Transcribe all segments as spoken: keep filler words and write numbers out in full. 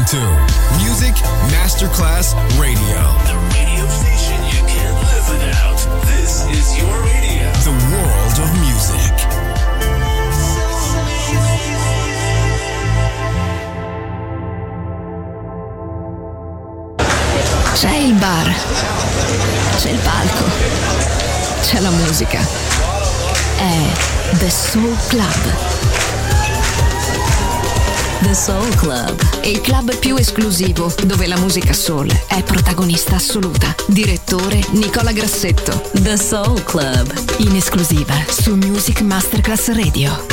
to Music Masterclass Radio. The radio station you can't live without. This is your radio. The world of music. C'è il bar, c'è il palco, c'è la musica. È The Soul Club. The Soul Club, il club più esclusivo dove la musica soul è protagonista assoluta. Direttore Nicola Grassetto. The Soul Club, in esclusiva su Music Masterclass Radio.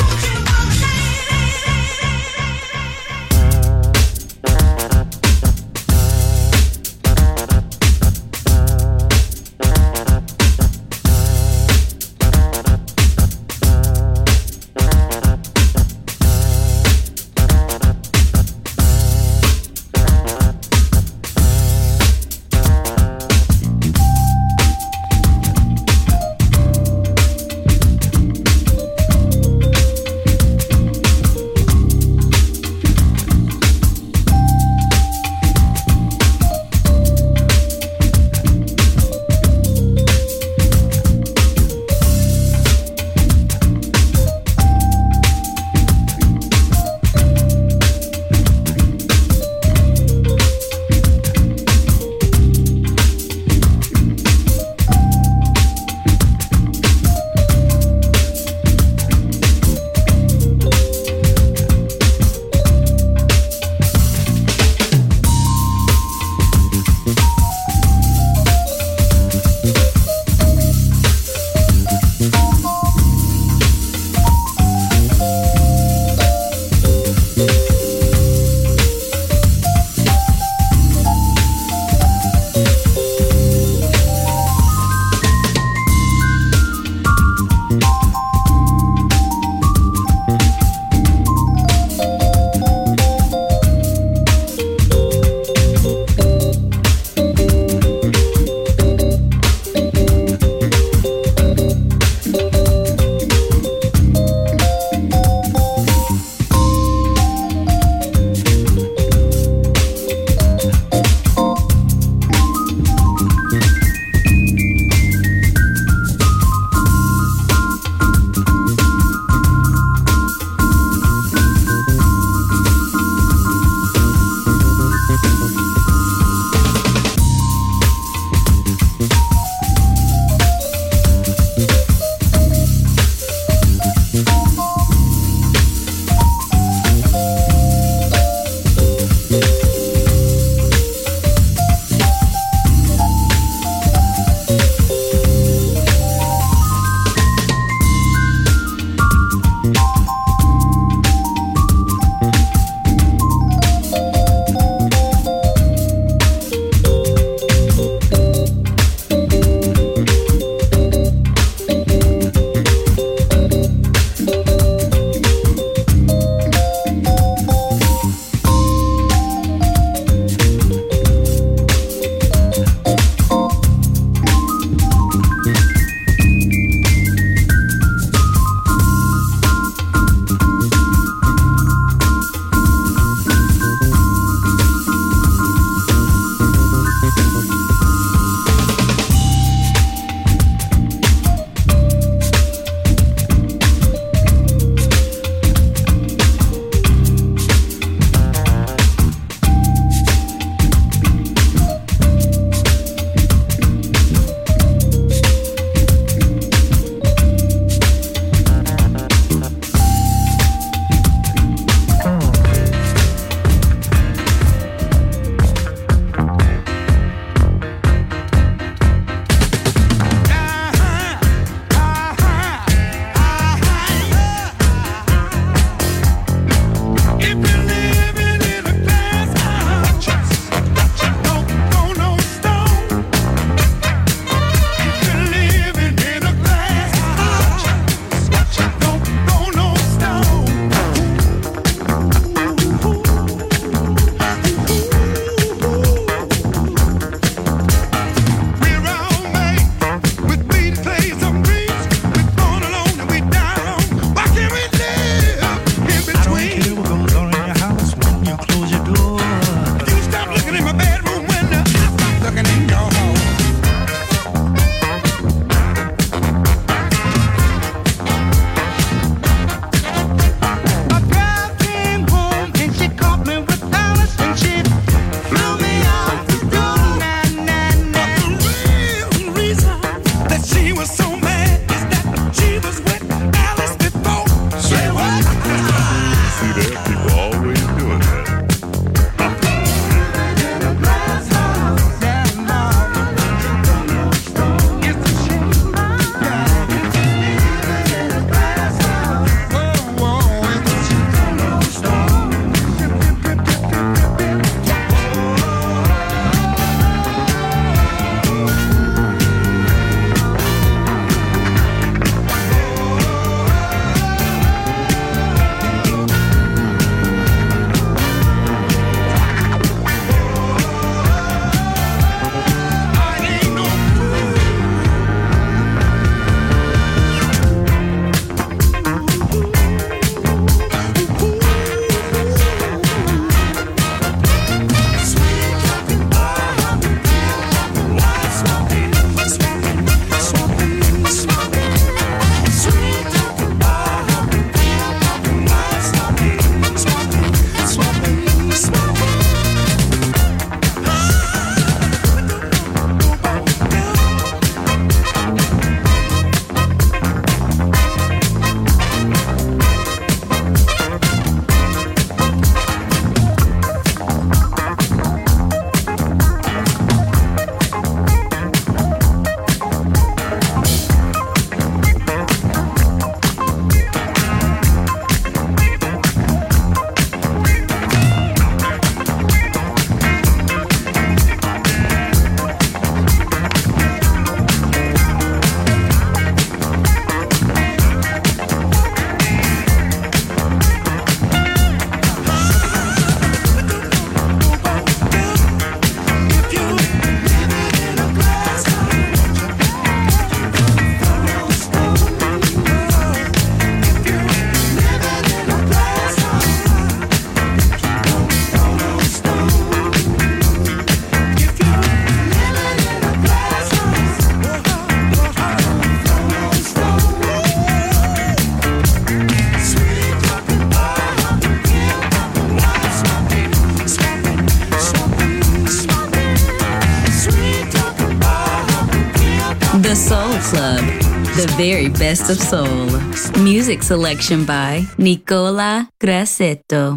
The very best of soul. Music selection by Nicola Grassetto.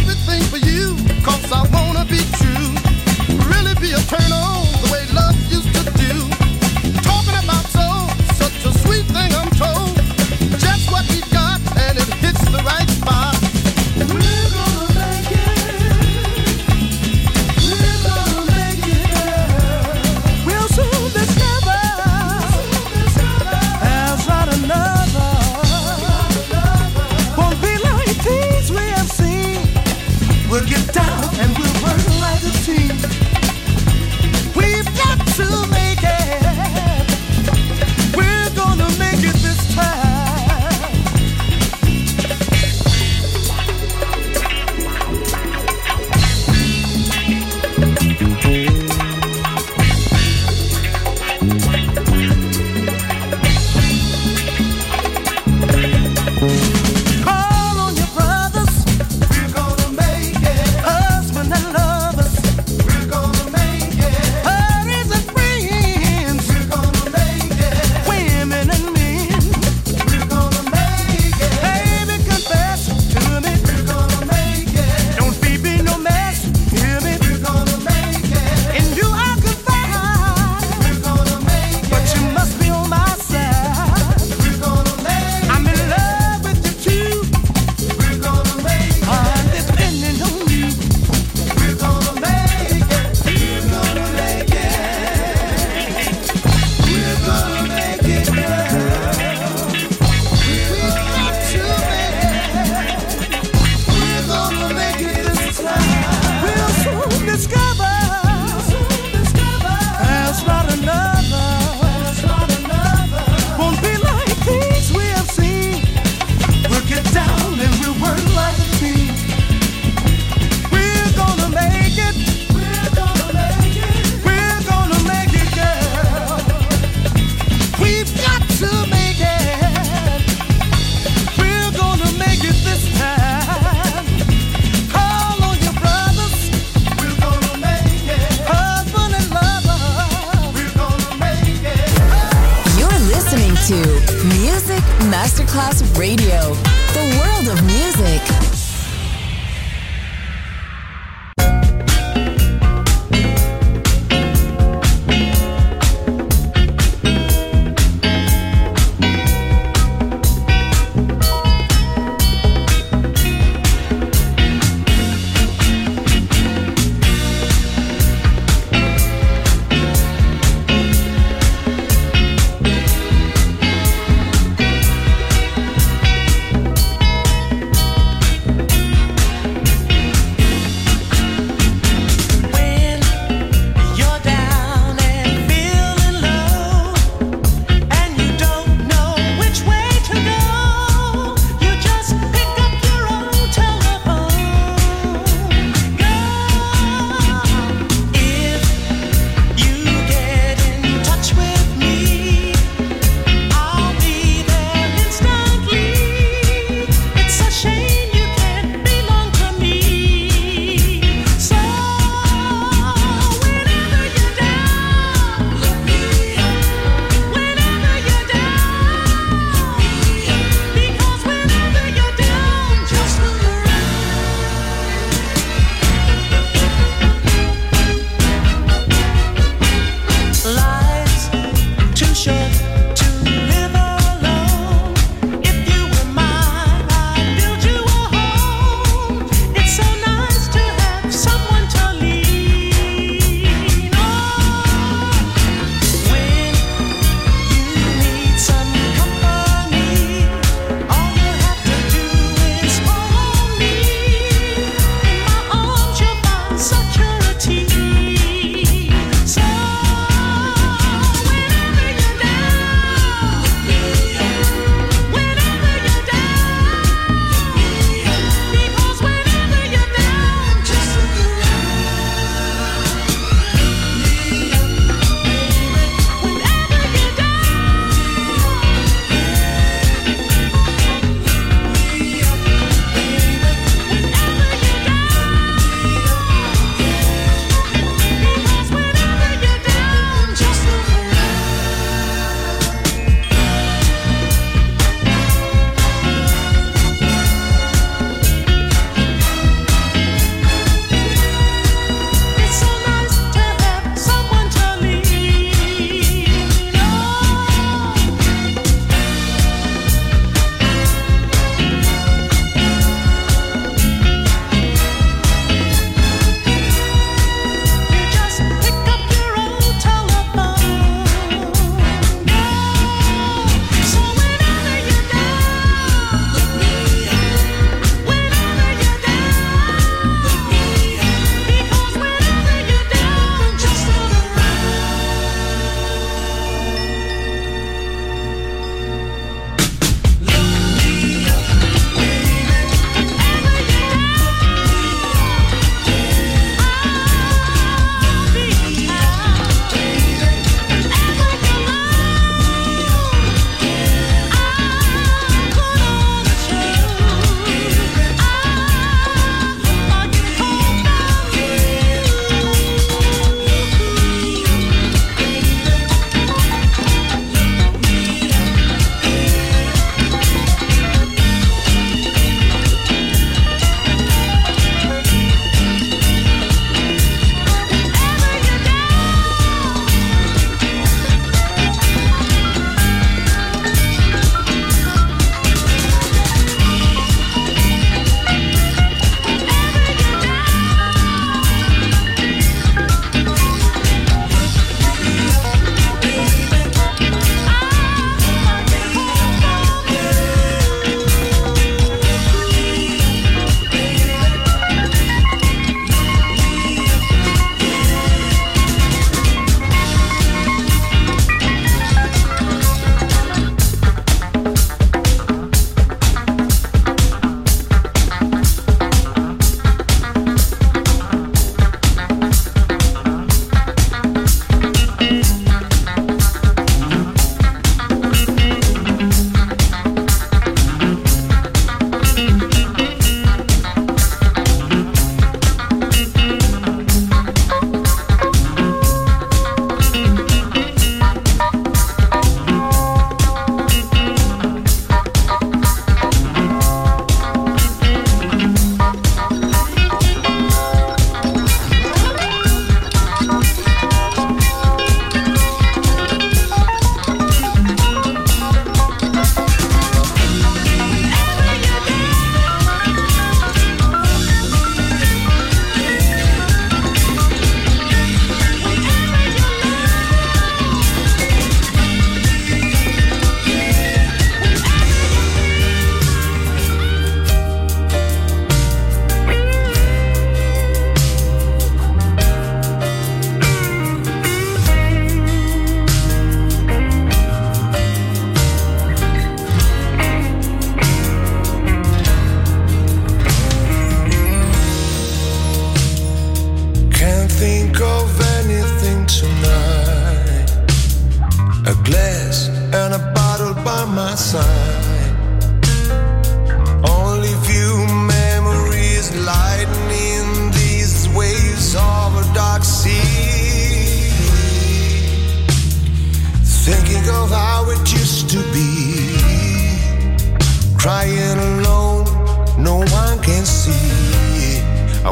Turn on the way love used to Masterclass Radio, the world of music.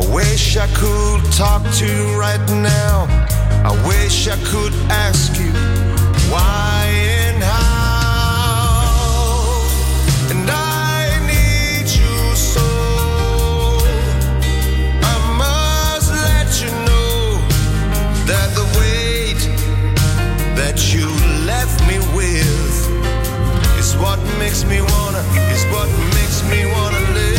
wish I could talk to you right now. I wish I could ask you why and how. And I need you so. I must let you know that the weight that you left me with is what makes me wanna, is what makes me wanna live.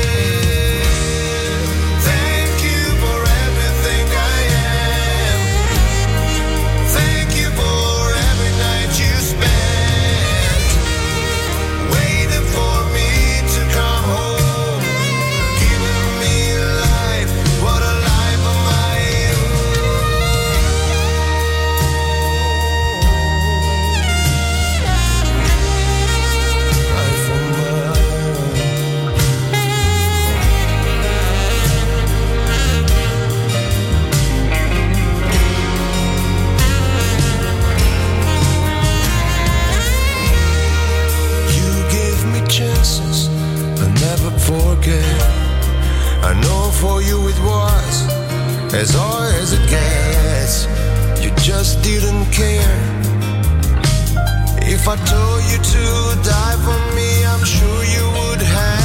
I know for you it was as hard as it gets. You just didn't care. If I told you to die for me, I'm sure you would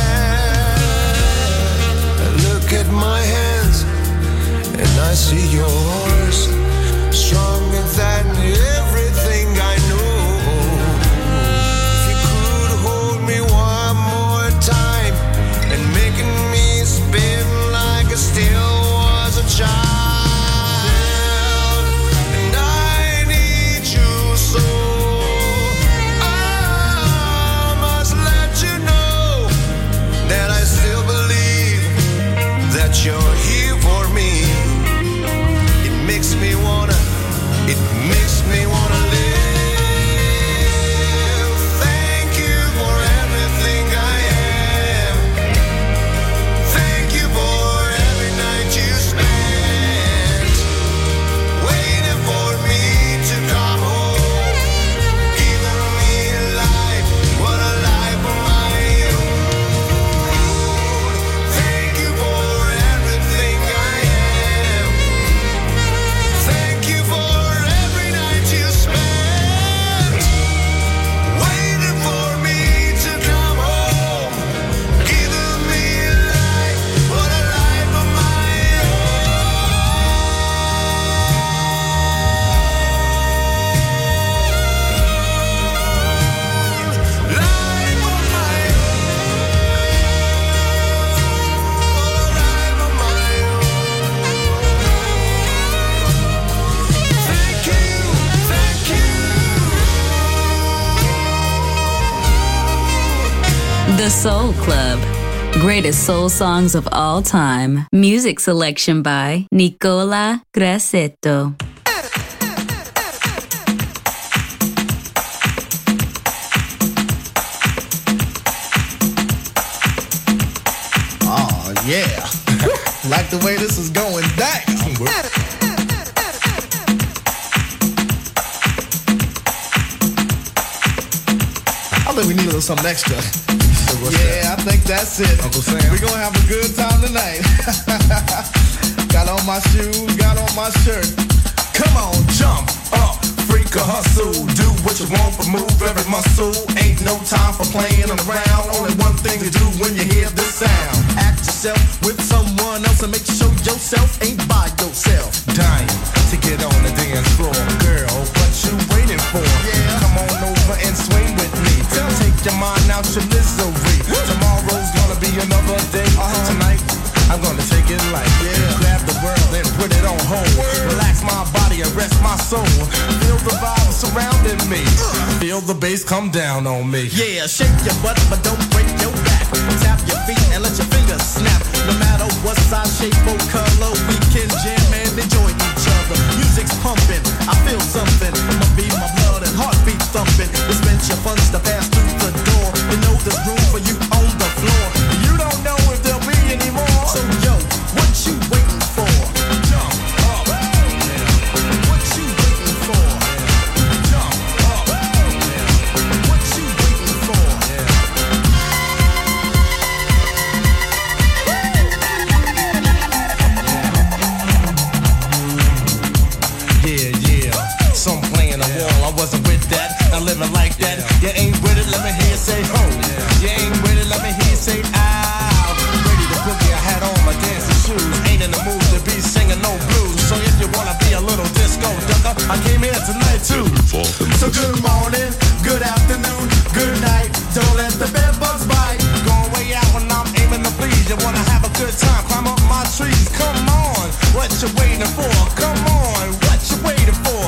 have. Look at my hands and I see yours, stronger than everything I know. If you could hold me one more time and making me spin like I still was a child. And I need you so. I must let you know that I still believe that you're here for me. It makes me wanna, it makes me wanna live. The Soul Club. Greatest soul songs of all time. Music selection by Nicola Grassetto. Oh, yeah. Like the way this is going down. I think we need a little something extra. Yeah, I think that's it. Uncle Sam. We're gonna have a good time tonight. Got on my shoes, got on my shirt. Come on, jump up, freak a hustle. Do what you want, but move every muscle. Ain't no time for playing around. Only one thing to do when you hear this sound. Act yourself with someone else and make sure yourself ain't by yourself. Dying to get on the dance floor. Girl, what you waiting for? Yeah. Come on over and swing with me. Take your mind out your misery. Tomorrow's gonna be another day. Uh-huh. Tonight, I'm gonna take it light. Yeah. Grab the world and put it on hold. Word. Relax my body and rest my soul. Feel the vibe surrounding me. Uh. Feel the bass come down on me. Yeah, shake your butt, but don't break your back. Tap your feet and let your fingers snap. No matter what size, shape, or color, we can jam and enjoy each other. Music's pumping, I feel something. My beat, my blood, and heartbeat thumping. Dispense your funds to pass through the door. You know there's room for you on the floor. You don't know if there'll be any more. So yo, what you waiting for? Jump up. What you waiting for? Jump up. What you waiting for? I'm living like that. You ain't with it, let me hear you say ho. You ain't with it, let me hear you say ow. Ready to boogie, I had on my dancing shoes. Ain't in the mood to be singing no blues. So if you wanna be a little disco ducker, I came here tonight too. So good morning, good afternoon, good night. Don't let the bed bugs bite. Going way out when I'm aiming to please. You wanna have a good time, climb up my trees. Come on, what you waiting for? Come on, what you waiting for?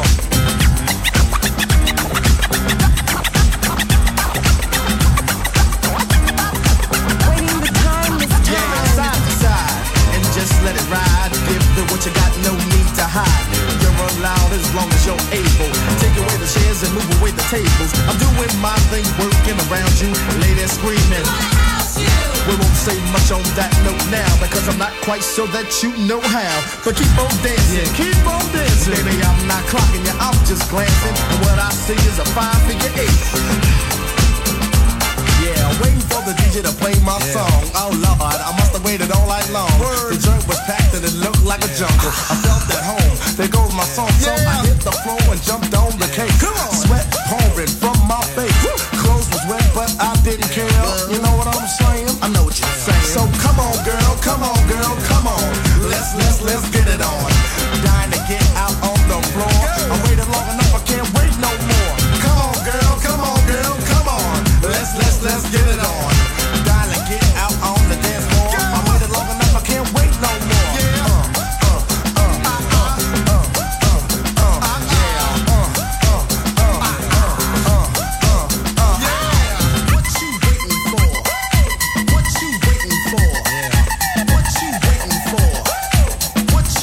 Waiting the time is time. Yeah, side to side, and just let it ride. Give it what you got, no need to hide. You're allowed as long as you're able. Take away the chairs and move away the tables. I'm doing my thing, working around you, ladies screaming. We won't say much on that note now, because I'm not quite sure that you know how. But keep on dancing, yeah, keep on dancing. Baby, I'm not clocking you, I'm just glancing. And what I see is a five-figure eight. Yeah, waiting for the D J to play my yeah. song. Oh Lord, I must have waited all night long. Word. The joint was packed and it looked like yeah. a jungle. I felt at home, there goes my song. So yeah. I hit the floor and jumped on the cake. Come on. Sweat pouring from my face. Woo. Clothes was wet, but I didn't care. You know what I'm saying? I know what you're saying. So come on, girl, come on, girl, come on. Let's, let's, let's get it on. Dying to get out on the floor. I waited long enough, I can't wait no more. Come on, girl, come on, girl, come on. Let's, let's, let's get it on. Dying to get out on the dance floor. I waited long enough, I can't wait no more. Yeah. Uh, uh, uh, uh, uh, uh, uh, uh, yeah. Uh, uh, uh, uh, uh, uh, uh, yeah. What you waiting for? What you waiting for? What you waiting for? What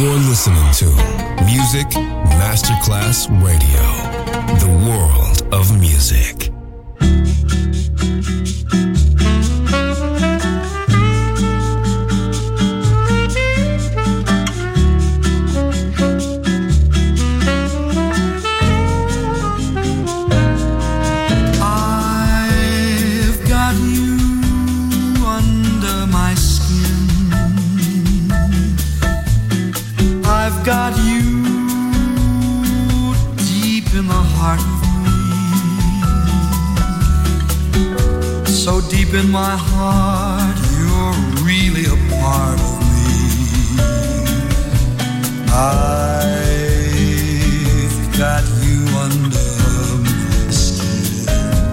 You're listening to Music Masterclass Radio, the world of music. Got you deep in the heart of me. So deep in my heart, you're really a part of me. I've got you under my skin.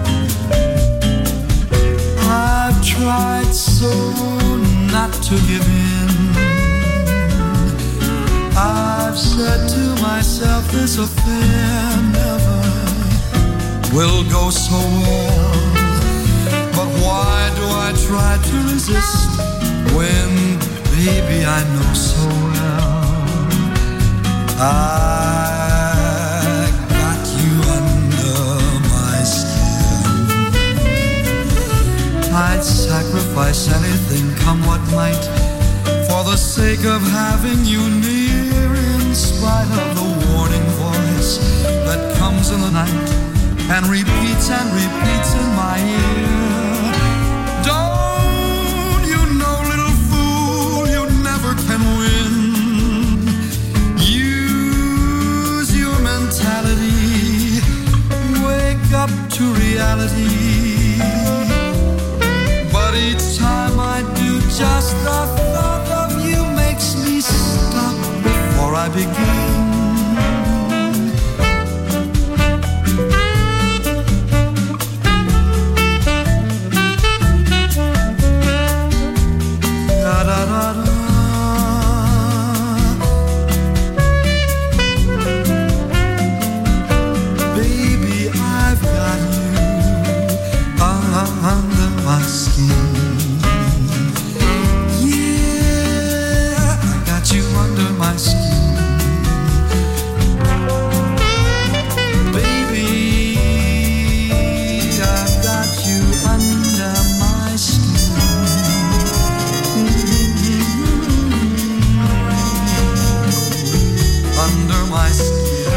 I've tried so not to give in. I've said to myself, this affair never will go so well. But why do I try to resist when, baby, I know so well I got you under my skin. I'd sacrifice anything, come what might, for the sake of having you near, in spite of the warning voice that comes in the night and repeats and repeats in my ear. Don't you know, little fool, you never can win. Use your mentality, wake up to reality. But each time I do, just the thought of you makes me stop before I begin. Da da da da. Baby, I've got you uh, under my skin. You under my skin, baby. I've got you under my skin, under my skin.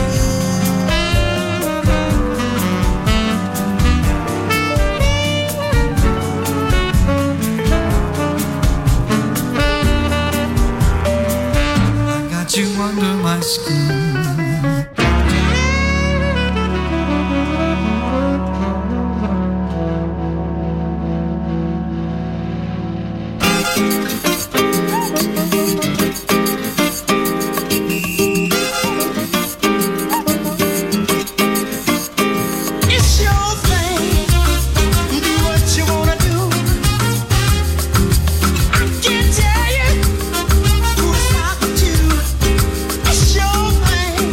You under my skin. It's your thing.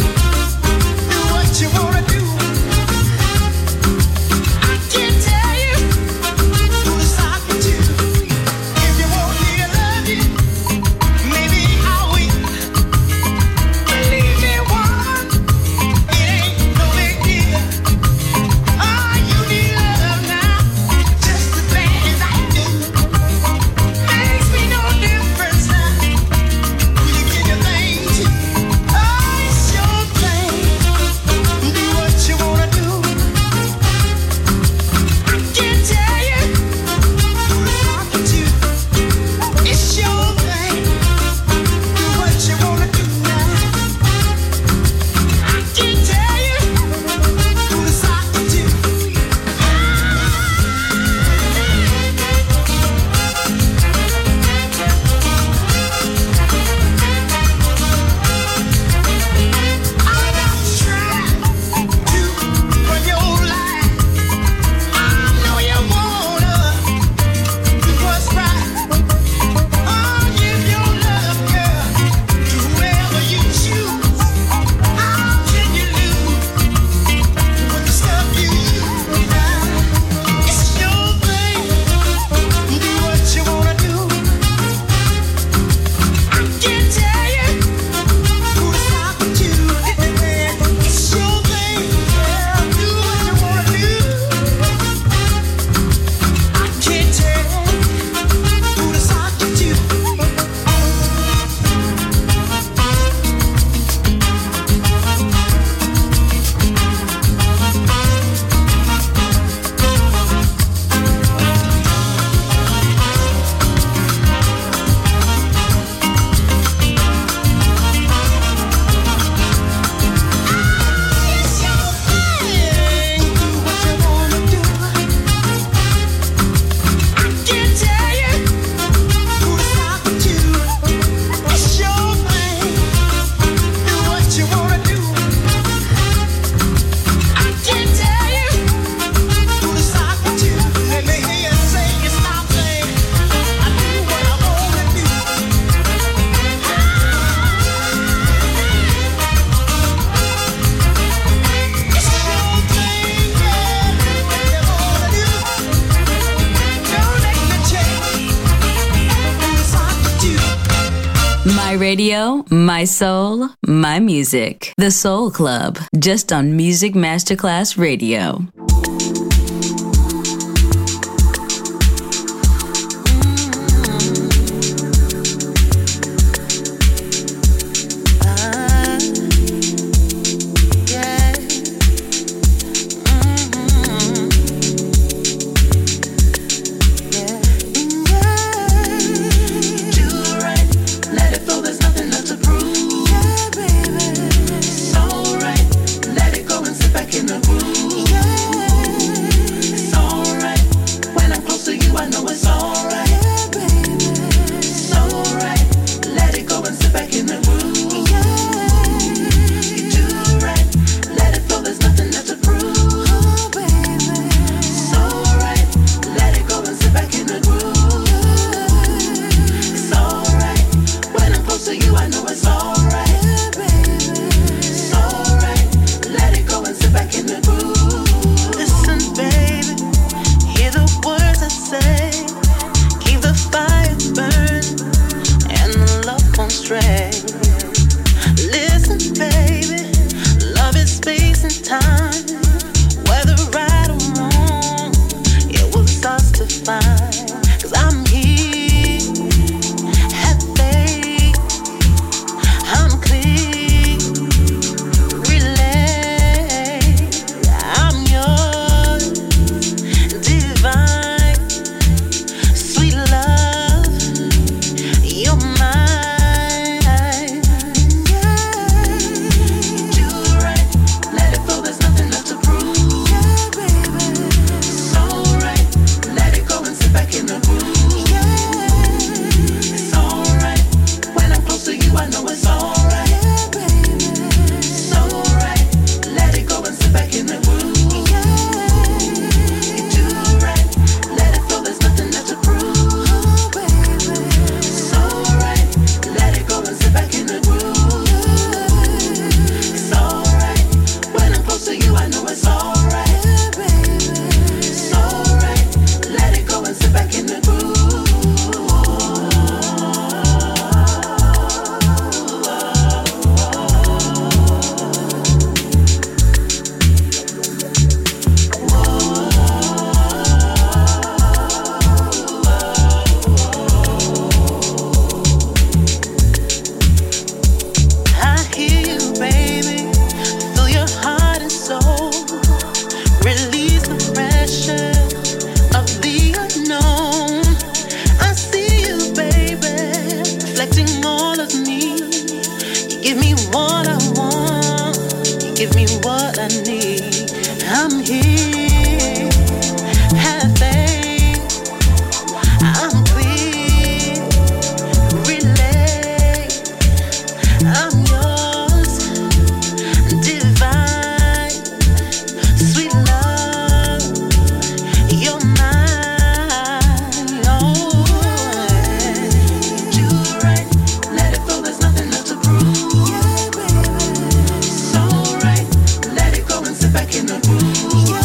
My radio, my soul, my music. The Soul Club, just on Music Masterclass Radio. Back in the groove.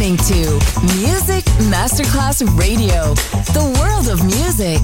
listening to Music Masterclass Radio, the world of music.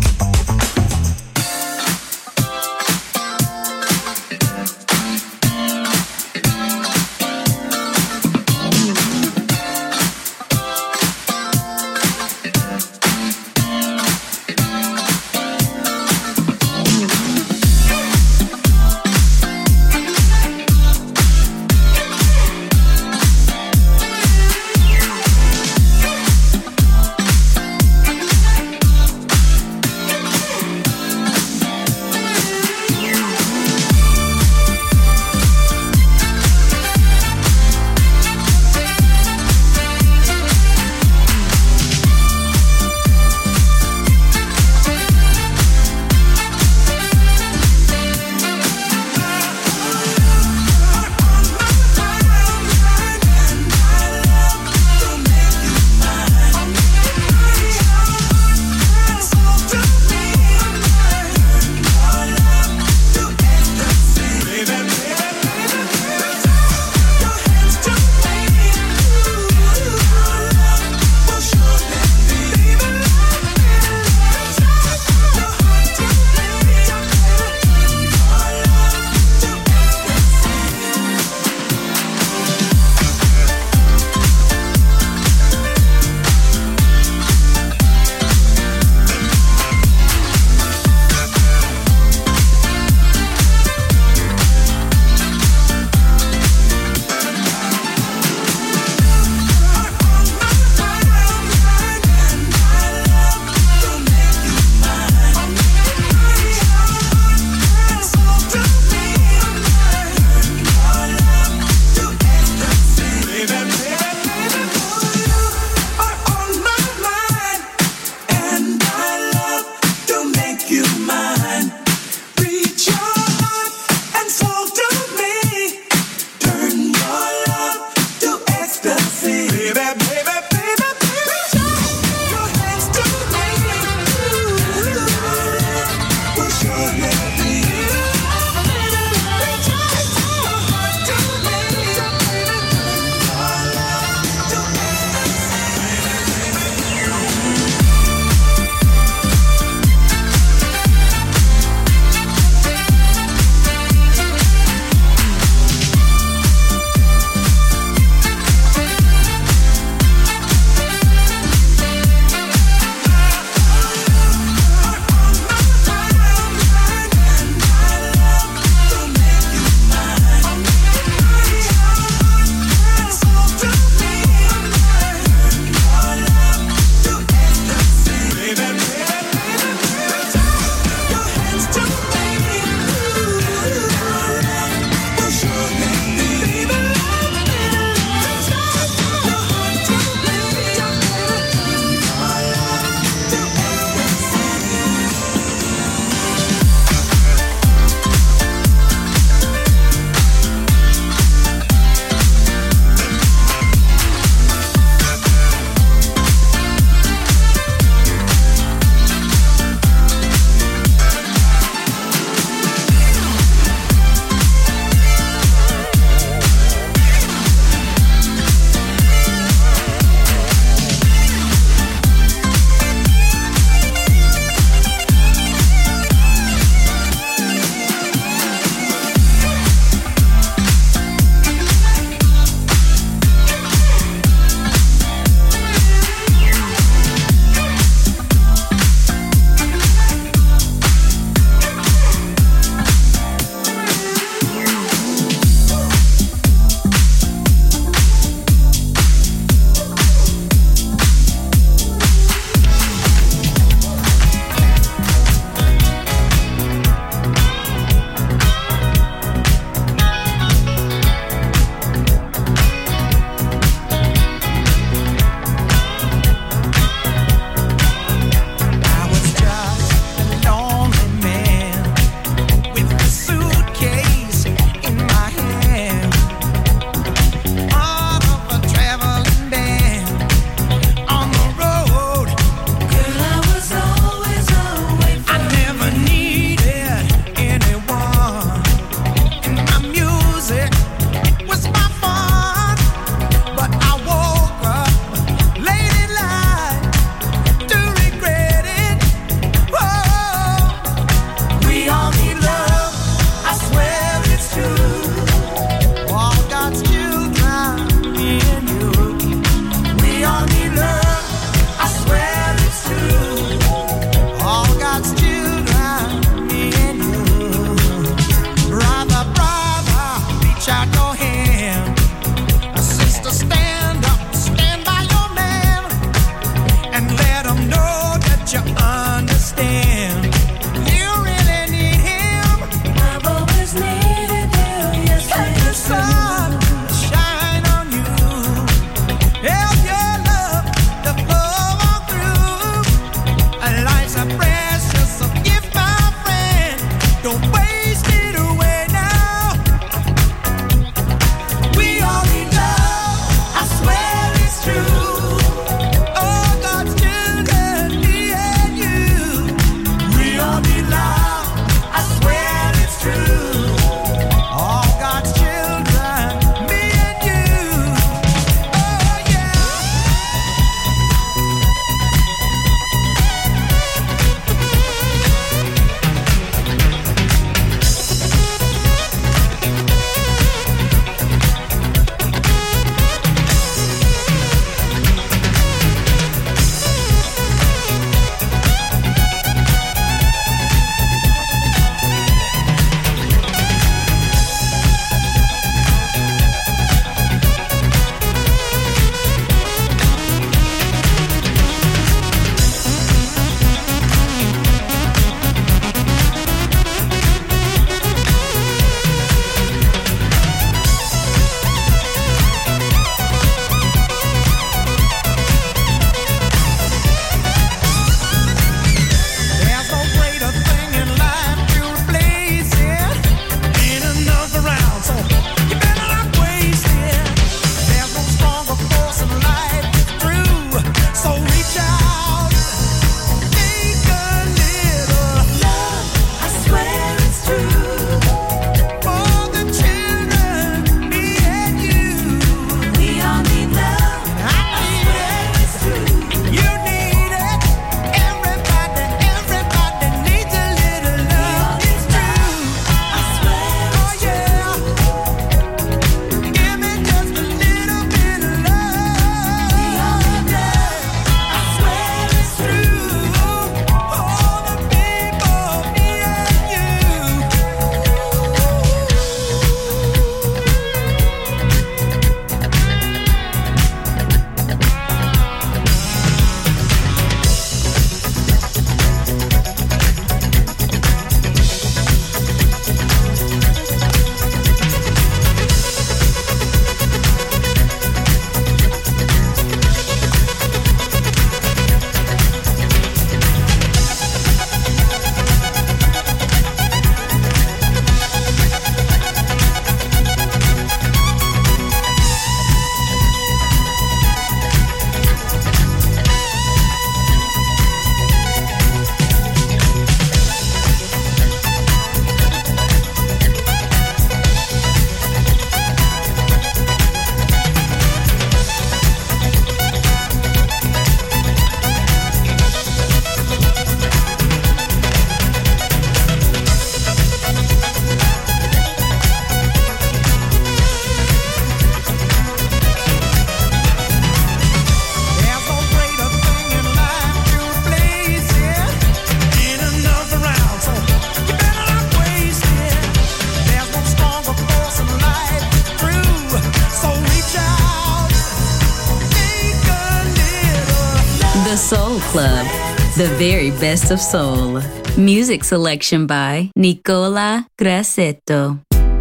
Soul Club, the very best of soul. Music selection by Nicola Grassetto.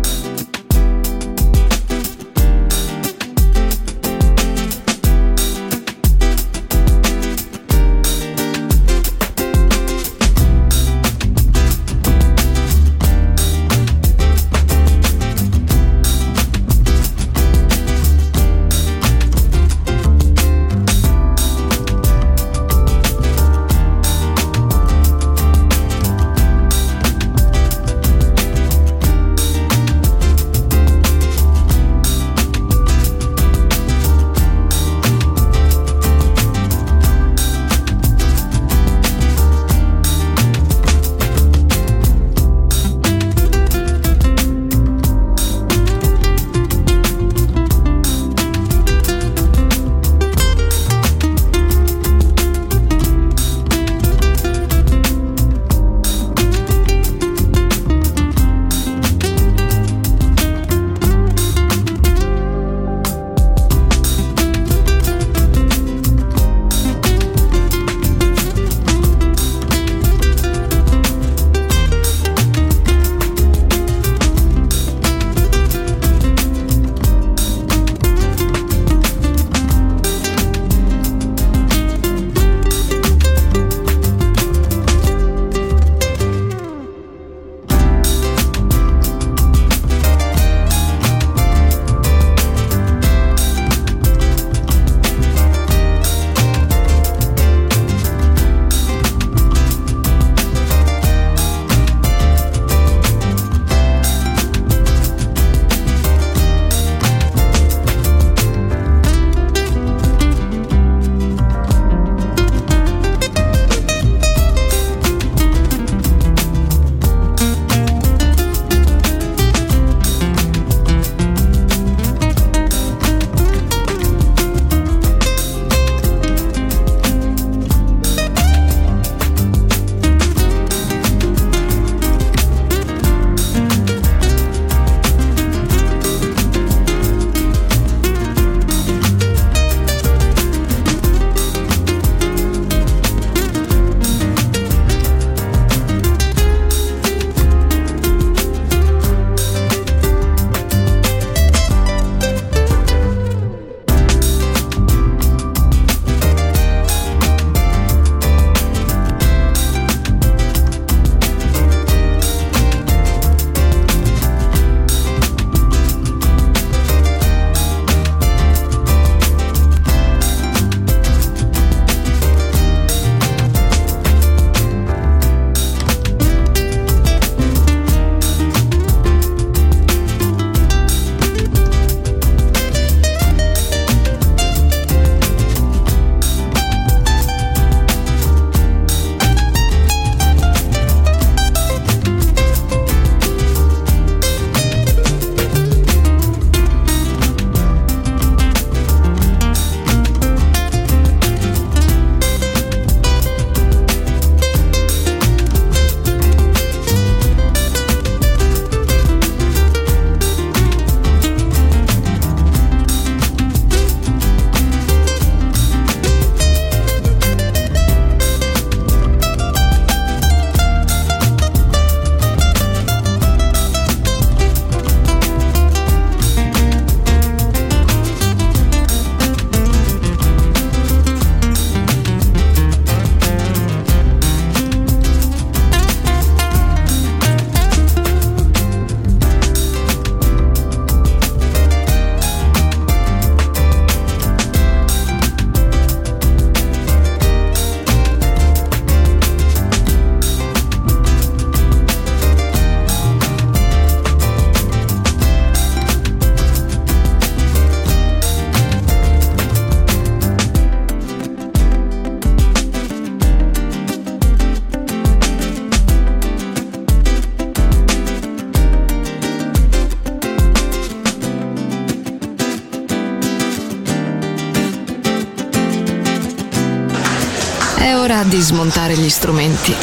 È ora di smontare gli strumenti,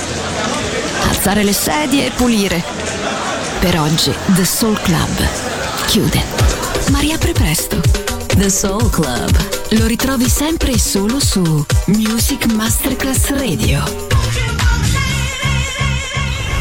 alzare le sedie e pulire. Per oggi The Soul Club chiude, ma riapre presto. The Soul Club. Lo ritrovi sempre e solo su Music Masterclass Radio.